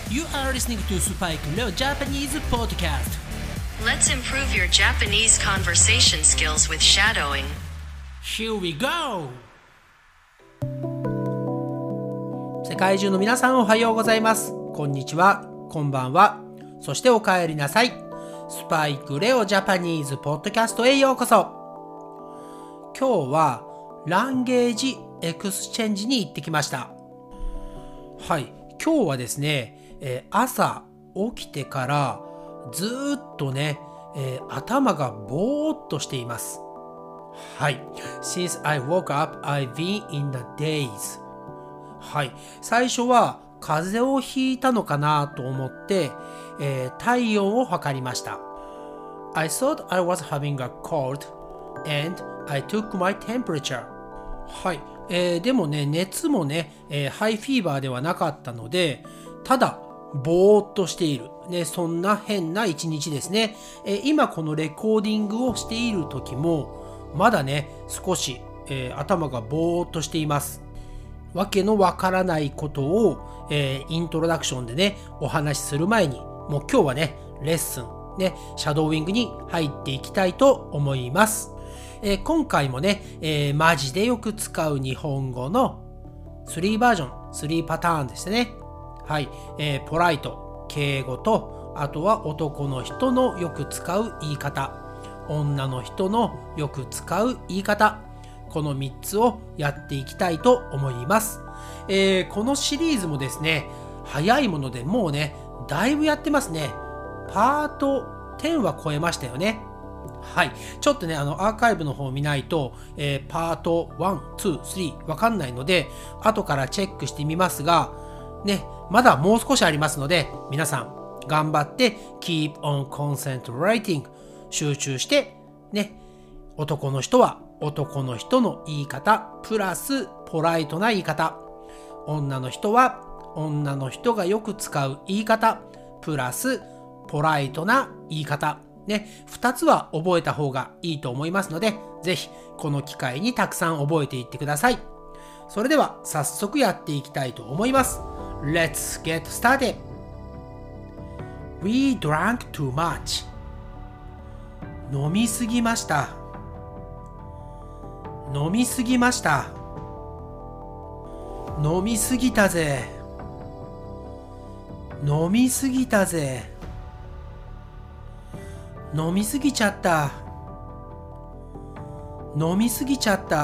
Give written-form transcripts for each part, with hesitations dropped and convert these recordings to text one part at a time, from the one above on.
You are listening to Spike Leo Japanese Podcast. Let's improve your Japanese conversation skills with shadowing. Here we go! 世界中の皆さんおはようございます。こんにちは、こんばんは。そしてお帰りなさい。スパイクレオジャパニーズポッドキャストへようこそ。今日はランゲージエクスチェンジに行ってきました。はい、今日はですね、朝起きてからずっとね、頭がぼーっとしています。はい。Since I woke up, I've been in the daze. はい。最初は風邪をひいたのかなと思って、体温を測りました。I thought I was having a cold and I took my temperature. はい。でもね、熱もね、ハイフィーバーではなかったので、ただ、ぼーっとしている。ね、そんな変な一日ですね。今このレコーディングをしている時も、まだね、少し、頭がぼーっとしています。わけのわからないことを、イントロダクションでね、お話しする前に、もう今日はね、レッスン、ね、シャドーイングに入っていきたいと思います。今回もね、マジでよく使う日本語の3バージョン、3パターンですね。はい、ポライト、敬語と、あとは男の人のよく使う言い方、女の人のよく使う言い方、この3つをやっていきたいと思います。このシリーズもですね、早いものでもうね、だいぶやってますね。パート10は超えましたよね。はい。ちょっとね、アーカイブの方を見ないと、パート1、2、3わかんないので、後からチェックしてみますが、ね、まだもう少しありますので、皆さん頑張って keep on concentrating 集中して、ね、男の人は男の人の言い方、プラスポライトな言い方。女の人は女の人がよく使う言い方、プラスポライトな言い方。ね、2つは覚えた方がいいと思いますので、ぜひこの機会にたくさん覚えていってください。それでは早速やっていきたいと思います。Let's get started. We drank too much. 飲みすぎました。飲みすぎました。飲みすぎたぜ。飲みすぎたぜ。飲みすぎちゃった。飲みすぎちゃった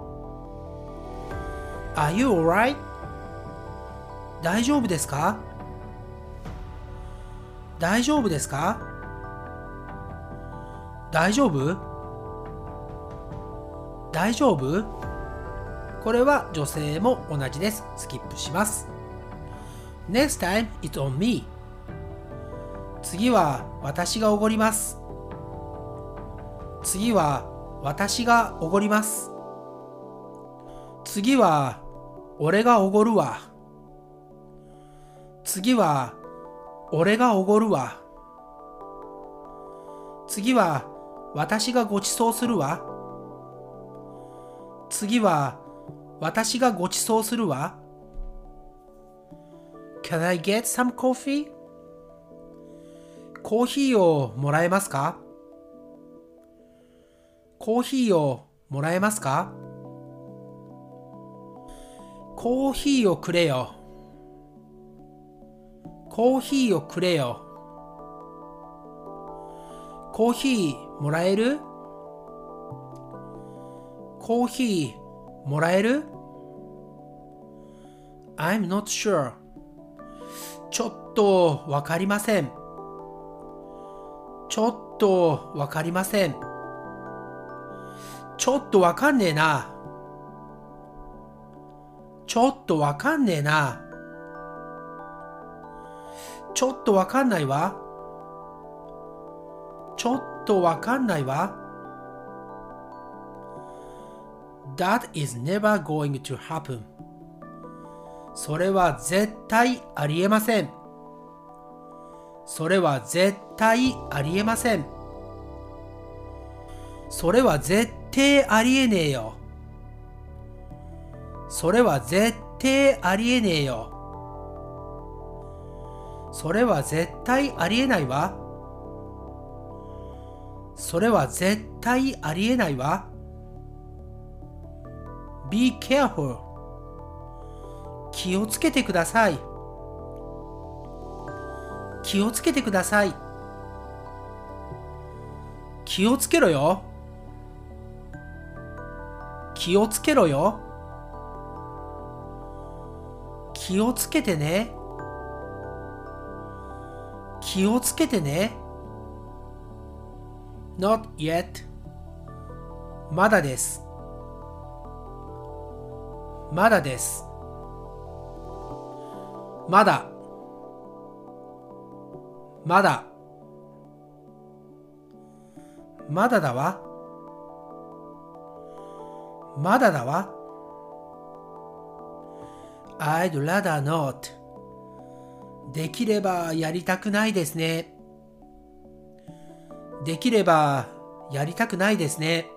。Are you alright? 大丈夫ですか？大丈夫ですか？大丈夫？大丈夫？これは女性も同じです。スキップします。Next time it's on me. 次は私がおごります。次は私がおごります。次は俺がおごるわ。次は俺がおごるわ。次は私がごちそうするわ。次は私がごちそうするわ。Can I get some coffee? コーヒーをもらえますか？コーヒーをもらえますか？コーヒーをくれよ。コーヒーをくれよ。コーヒーもらえる？コーヒーもらえる？ I'm not sure. ちょっとわかりません。ちょっとわかりません。ちょっとわかんねえな。ちょっとわかんねえな。ちょっとわかんないわ。ちょっとわかんないわ。That is never going to happen. それは絶対ありえません。それは絶対ありえません。それは絶対ありえねえよ。それは絶対ありえねえよ。 それは絶対ありえないわ。それは絶対ありえないわ。Be careful. 気をつけてください。気をつけてください。気をつけろよ。気をつけろよ。気をつけてね。気をつけてね。Not yet. まだです。まだです。まだ。まだ。まだだわ。まだだわ。I'd rather not. できればやりたくないですね。できればやりたくないですね。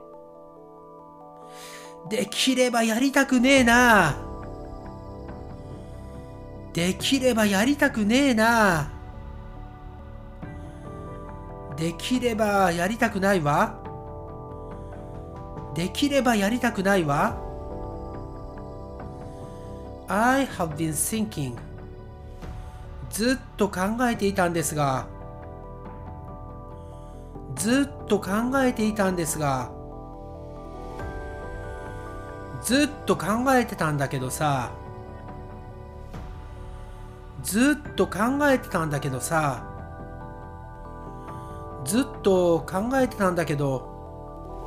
できればやりたくねえな。できればやりたくねえな。できればやりたくないわ。できればやりたくないわ。I have been thinking. ずっと考えていたんですが。ずっと考えていたんですが。ずっと考えてたんだけどさ。ずっと考えてたんだけどさ。ずっと考えてたんだけど。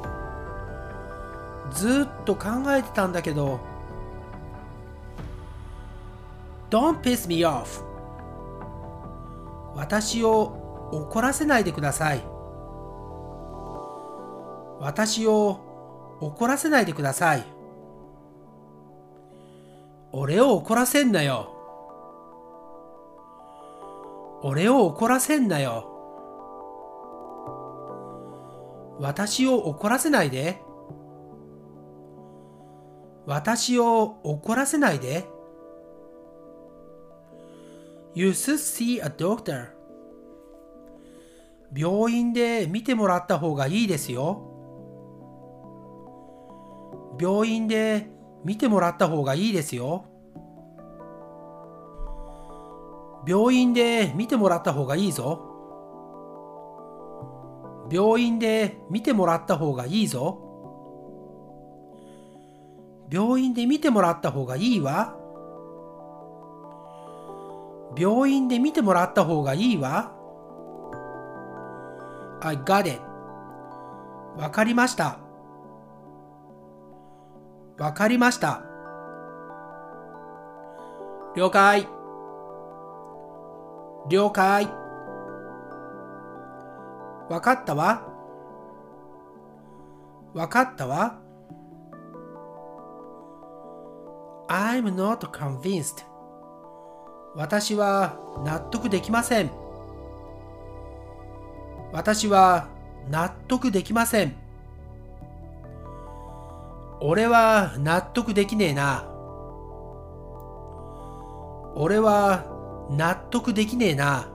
ずっと考えてたんだけど。Don't piss me off. 私を怒らせないでください。私を怒らせないでください。俺を怒らせんなよ。俺を怒らせんなよ。私を怒らせないで。私を怒らせないで。You should see a doctor. 病院で見てもらった方がいいですよ。病院で見てもらった方がいいですよ。病院で見てもらった方がいいぞ。病院で見てもらった方がいいぞ。病院で見てもらった方がいいわ。病院で見てもらった方がいいわ。I got it. わかりました。わかりました。了解。了解。わかったわ。わかったわ。I'm not convinced. 私は納得できません。私は納得できません。俺は納得できねえな。俺は納得できねえな。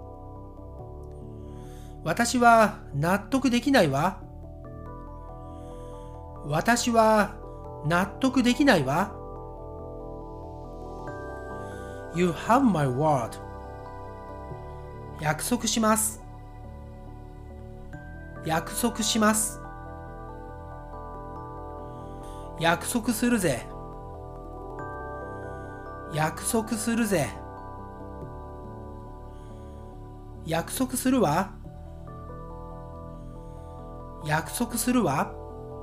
私は納得できないわ。私は納得できないわ。You have my word. 約束します。約束します。約束するぜ。約束するぜ。約束するわ。約束するわ。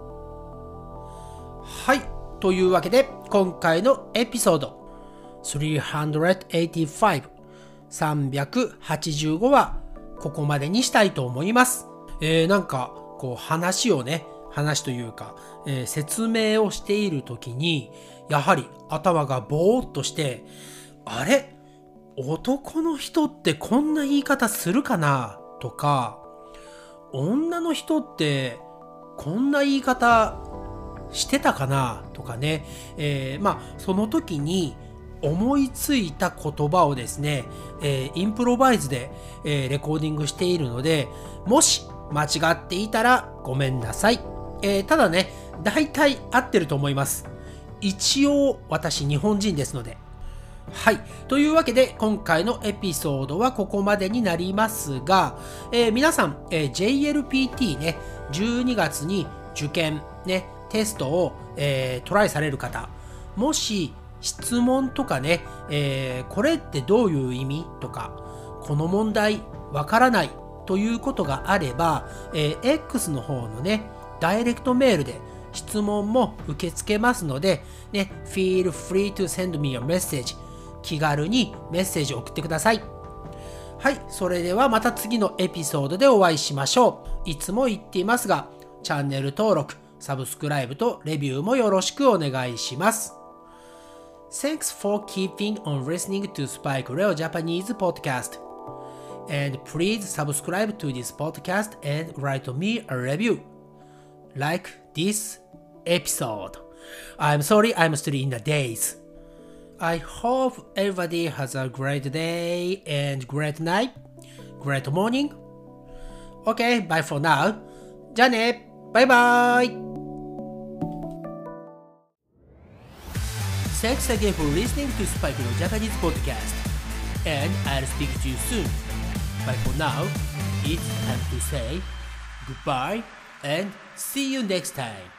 はい。というわけで、今回のエピソード385、385はここまでにしたいと思います。なんか、こう話というか、説明をしているときに、やはり頭がぼーっとして、あれ？男の人ってこんな言い方するかな？とか、女の人ってこんな言い方してたかな？とかね。その時に思いついた言葉をですね、インプロバイズで、レコーディングしているので、もし間違っていたらごめんなさい。ただね、大体合ってると思います。一応私日本人ですので。はい。というわけで今回のエピソードはここまでになりますが、皆さん、JLPT ね、12月に受験ね、テストを、トライされる方、もし質問とかね、これってどういう意味とか、この問題わからないということがあれば、X の方のね、ダイレクトメールで質問も受け付けますので、ね、feel free to send me a message。気軽にメッセージを送ってください。はい、それではまた次のエピソードでお会いしましょう。いつも言っていますが、チャンネル登録、サブスクライブとレビューもよろしくお願いします。Thanks for keeping on listening to Spike Leo Japanese podcast. And please subscribe to this podcast and write me a review. Like this episode. I'm sorry I'm still in the days. I hope everybody has a great day and great night, great morning. Okay, bye for now. じゃあね、バイバイ。Thanks again for listening to Spike Leo Japanese podcast. And I'll speak to you soon. But for now, it's time to say goodbye and see you next time.